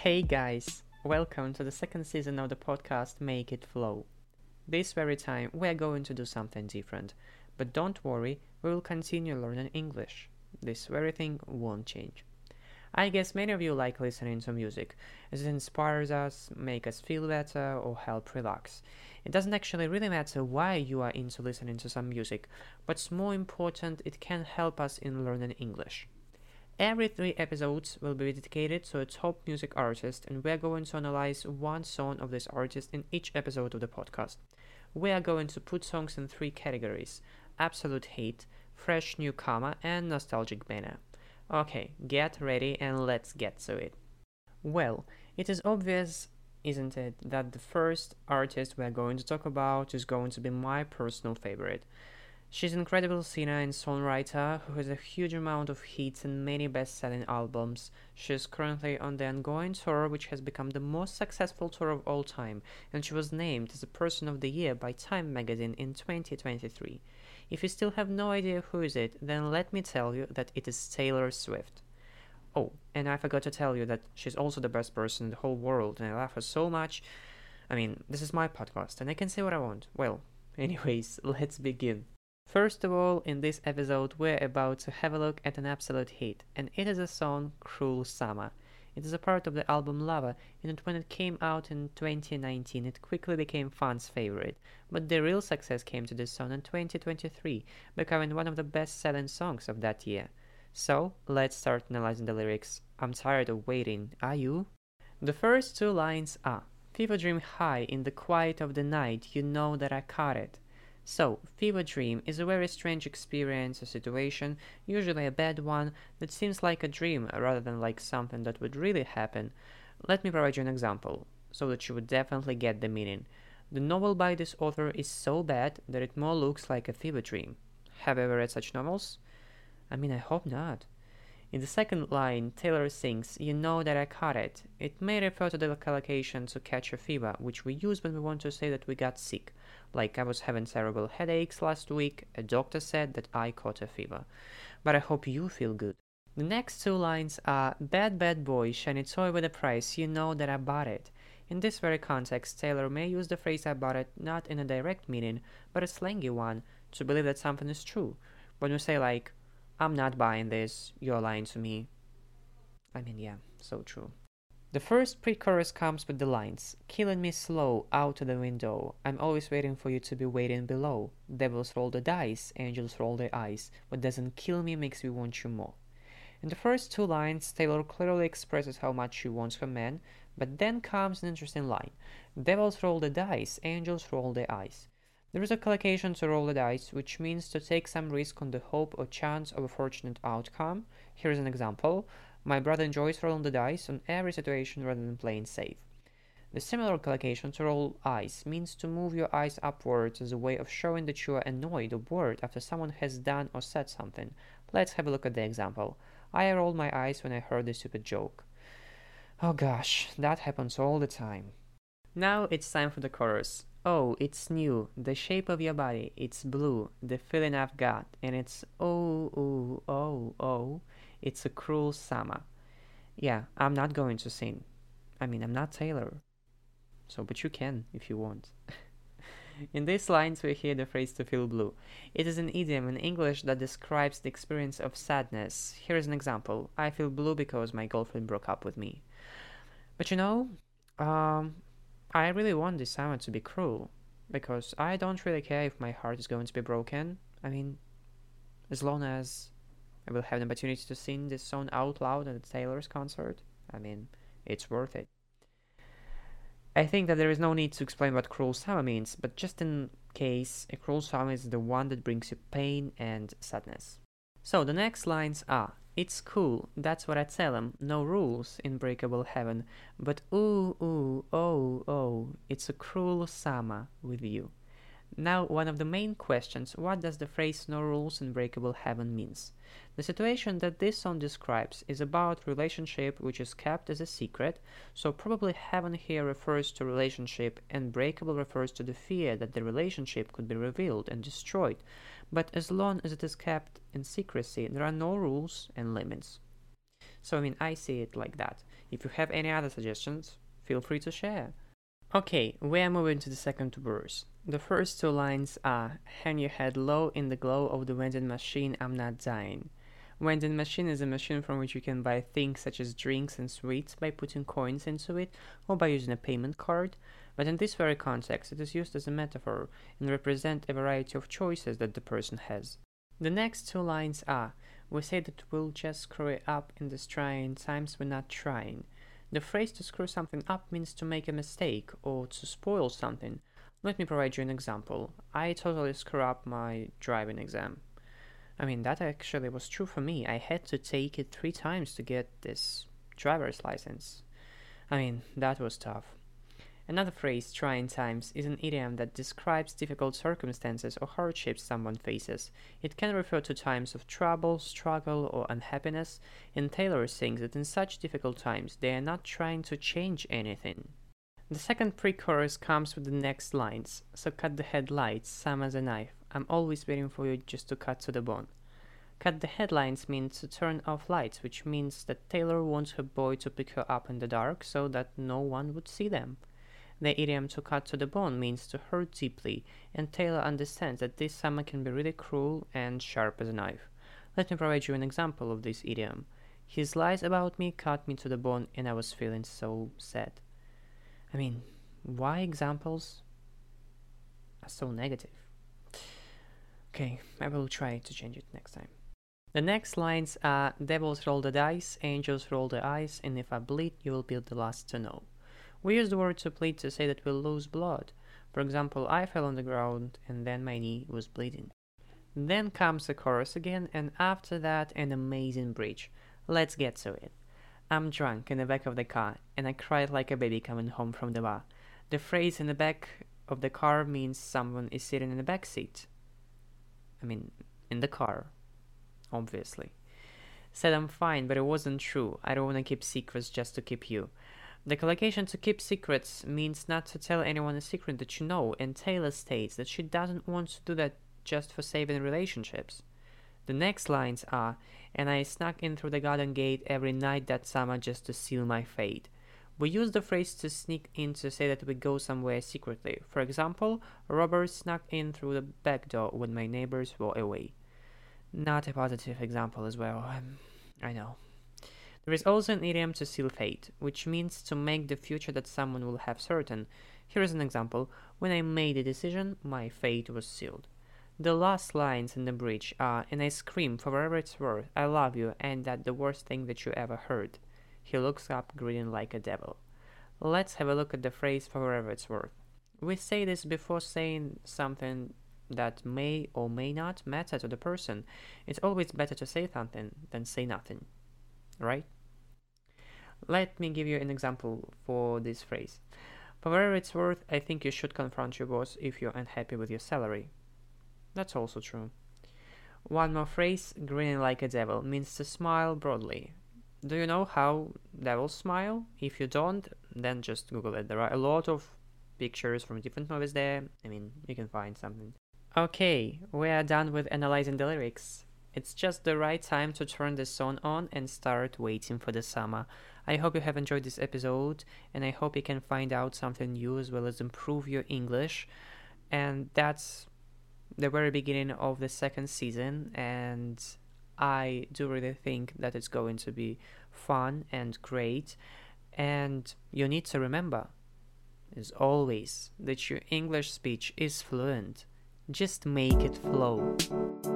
Hey guys, welcome to the second season of the podcast Make It Flow. This very time we are going to do something different, but don't worry, we will continue learning English. This very thing won't change. I guess many of you like listening to music, as it inspires us, make us feel better, or help relax. It doesn't actually really matter why you are into listening to some music, but more important, it can help us in learning English. Every 3 episodes will be dedicated to a top music artist, and we're going to analyze one song of this artist in each episode of the podcast. We are going to put songs in 3 categories: absolute hit, fresh newcomer, and nostalgic banger. Okay, get ready and let's get to it. Well, it is obvious, isn't it, that the first artist we're going to talk about is going to be my personal favorite. She's an incredible singer and songwriter who has a huge amount of hits and many best-selling albums. She is currently on the ongoing tour, which has become the most successful tour of all time, and she was named as a Person of the Year by Time magazine in 2023. If you still have no idea who is it, then let me tell you that it is Taylor Swift. Oh, and I forgot to tell you that she's also the best person in the whole world, and I love her so much. This is my podcast, and I can say what I want. Well, anyways, let's begin. First of all, in this episode, we're about to have a look at an absolute hit, and it is a song, Cruel Summer. It is a part of the album Lava, and when it came out in 2019, it quickly became fans' favorite. But the real success came to this song in 2023, becoming one of the best-selling songs of that year. So, let's start analyzing the lyrics. I'm tired of waiting, are you? The first 2 lines are: Fever dream high in the quiet of the night, you know that I caught it. So, fever dream is a very strange experience or situation, usually a bad one, that seems like a dream rather than like something that would really happen. Let me provide you an example, so that you would definitely get the meaning. The novel by this author is so bad that it more looks like a fever dream. Have you ever read such novels? I hope not. In the second line, Taylor sings, You know that I caught it. It may refer to the collocation to catch a fever, which we use when we want to say that we got sick. Like I was having terrible headaches last week, a doctor said that I caught a fever. But I hope you feel good. The next 2 lines are, Bad bad boy, shiny toy with a price, you know that I bought it. In this very context, Taylor may use the phrase I bought it not in a direct meaning, but a slangy one, to believe that something is true. When we say like, I'm not buying this, you're lying to me. Yeah, so true. The first pre-chorus comes with the lines, Killing me slow, out of the window. I'm always waiting for you to be waiting below. Devils roll the dice, angels roll their eyes. What doesn't kill me makes me want you more. In the first 2 lines, Taylor clearly expresses how much she wants her man, but then comes an interesting line. Devils roll the dice, angels roll their eyes. There is a collocation to roll the dice, which means to take some risk on the hope or chance of a fortunate outcome. Here is an example. My brother enjoys rolling the dice on every situation rather than playing safe. The similar collocation to roll eyes means to move your eyes upwards as a way of showing that you are annoyed or bored after someone has done or said something. Let's have a look at the example. I rolled my eyes when I heard this stupid joke. Oh gosh, that happens all the time. Now it's time for the chorus. Oh, it's new, the shape of your body, it's blue, the feeling I've got, and it's oh, it's a cruel summer. Yeah, I'm not going to sing. I'm not Taylor. But you can, if you want. In these lines we hear the phrase to feel blue. It is an idiom in English that describes the experience of sadness. Here is an example. I feel blue because my girlfriend broke up with me. But I really want this summer to be cruel, because I don't really care if my heart is going to be broken. As long as I will have the opportunity to sing this song out loud at Taylor's concert, it's worth it. I think that there is no need to explain what cruel summer means, but just in case, a cruel summer is the one that brings you pain and sadness. So the next lines are, It's cool, that's what I tell 'em, no rules in breakable heaven, but oh, it's a cruel summer with you. Now, one of the main questions, what does the phrase no rules in breakable heaven means? The situation that this song describes is about relationship which is kept as a secret, so probably heaven here refers to relationship and breakable refers to the fear that the relationship could be revealed and destroyed, but as long as it is kept in secrecy, there are no rules and limits. So I see it like that. If you have any other suggestions, feel free to share. Okay, we are moving to the second verse. The first two lines are, hang your head low in the glow of the vending machine, I'm not dying. Vending machine is a machine from which you can buy things such as drinks and sweets by putting coins into it or by using a payment card, but in this very context it is used as a metaphor and represent a variety of choices that the person has. The next two lines are, we say that we'll just screw it up in these trying times, we're not trying. The phrase to screw something up means to make a mistake or to spoil something. Let me provide you an example. I totally screw up my driving exam. That actually was true for me. I had to take it 3 times to get this driver's license. That was tough. Another phrase, trying times, is an idiom that describes difficult circumstances or hardships someone faces. It can refer to times of trouble, struggle, or unhappiness, and Taylor thinks that in such difficult times they are not trying to change anything. The second pre-chorus comes with the next lines. So cut the headlights, some as a knife. I'm always waiting for you just to cut to the bone. Cut the headlights means to turn off lights, which means that Taylor wants her boy to pick her up in the dark so that no one would see them. The idiom to cut to the bone means to hurt deeply, and Taylor understands that this summer can be really cruel and sharp as a knife. Let me provide you an example of this idiom. His lies about me cut me to the bone and I was feeling so sad. Why examples are so negative? Okay, I will try to change it next time. The next lines are, devils roll the dice, angels roll their eyes, and if I bleed, you will be the last to know. We use the word to bleed to say that we'll lose blood. For example, I fell on the ground and then my knee was bleeding. Then comes the chorus again, and after that an amazing bridge. Let's get to it. I'm drunk in the back of the car, and I cried like a baby coming home from the bar. The phrase in the back of the car means someone is sitting in the back seat. In the car, obviously. Said I'm fine, but it wasn't true. I don't want to keep secrets just to keep you. The collocation to keep secrets means not to tell anyone a secret that you know, and Taylor states that she doesn't want to do that just for saving relationships. The next lines are, and I snuck in through the garden gate every night that summer just to seal my fate. We use the phrase to sneak in to say that we go somewhere secretly. For example, robbers snuck in through the back door when my neighbors were away. Not a positive example as well, I know. There is also an idiom to seal fate, which means to make the future that someone will have certain. Here is an example. When I made a decision, my fate was sealed. The last lines in the bridge are, and I scream for whatever it's worth, I love you, and that the worst thing that you ever heard. He looks up, grinning like a devil. Let's have a look at the phrase for whatever it's worth. We say this before saying something that may or may not matter to the person. It's always better to say something than say nothing. Right? Let me give you an example for this phrase. For whatever it's worth, I think you should confront your boss if you're unhappy with your salary. That's also true. One more phrase, grinning like a devil, means to smile broadly. Do you know how devils smile? If you don't, then just Google it. There are a lot of pictures from different movies there. You can find something. Okay, we are done with analyzing the lyrics. It's just the right time to turn the song on and start waiting for the summer. I hope you have enjoyed this episode, and I hope you can find out something new as well as improve your English. And that's the very beginning of the second season, and I do really think that it's going to be fun and great. And you need to remember, as always, that your English speech is fluent. Just make it flow.